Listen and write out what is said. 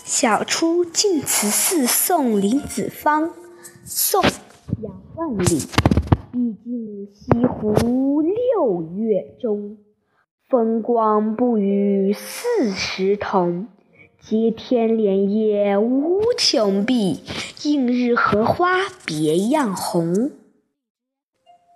小出净慈寺送林子方，宋·杨万里。毕竟西湖六月中，风光不与40同。接天莲叶无穷碧，映日荷花别样红。